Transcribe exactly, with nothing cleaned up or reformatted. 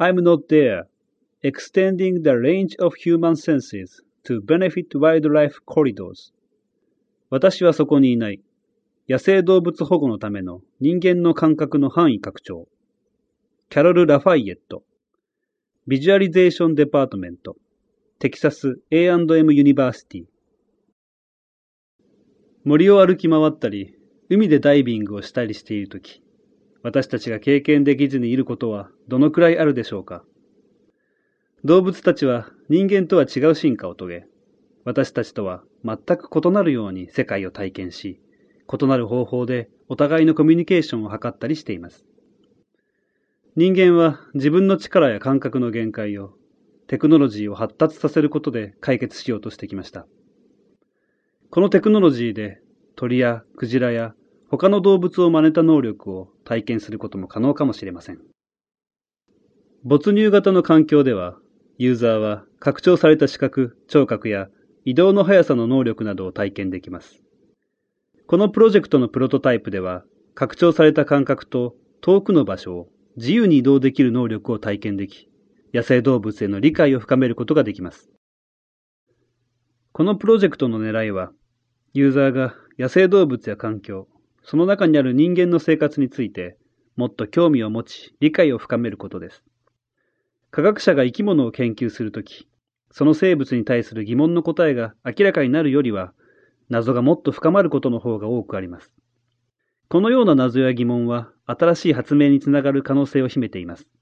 I'm not there, extending the range of human senses to benefit wildlife corridors. 私はそこにいない。野生動物保護のための人間の感覚の範囲拡張。キャロル・ラファイエット。ビジュアリゼーションデパートメント。テキサス エーアンドエム ユニバーシティ。森を歩き回ったり、海でダイビングをしたりしているとき、私たちが経験できずにいることはどのくらいあるでしょうか。動物たちは人間とは違う進化を遂げ、私たちとは全く異なるように世界を体験し、異なる方法でお互いのコミュニケーションを図ったりしています。人間は自分の力や感覚の限界をテクノロジーを発達させることで解決しようとしてきました。このテクノロジーで鳥やクジラや他の動物を真似た能力を体験することも可能かもしれません。没入型の環境では、ユーザーは拡張された視覚、聴覚や移動の速さの能力などを体験できます。このプロジェクトのプロトタイプでは、拡張された感覚と遠くの場所を自由に移動できる能力を体験でき、野生動物への理解を深めることができます。このプロジェクトの狙いは、ユーザーが野生動物や環境、その中にある人間の生活について、もっと興味を持ち、理解を深めることです。科学者が生き物を研究するとき、その生物に対する疑問の答えが明らかになるよりは、謎がもっと深まることの方が多くあります。このような謎や疑問は、新しい発明につながる可能性を秘めています。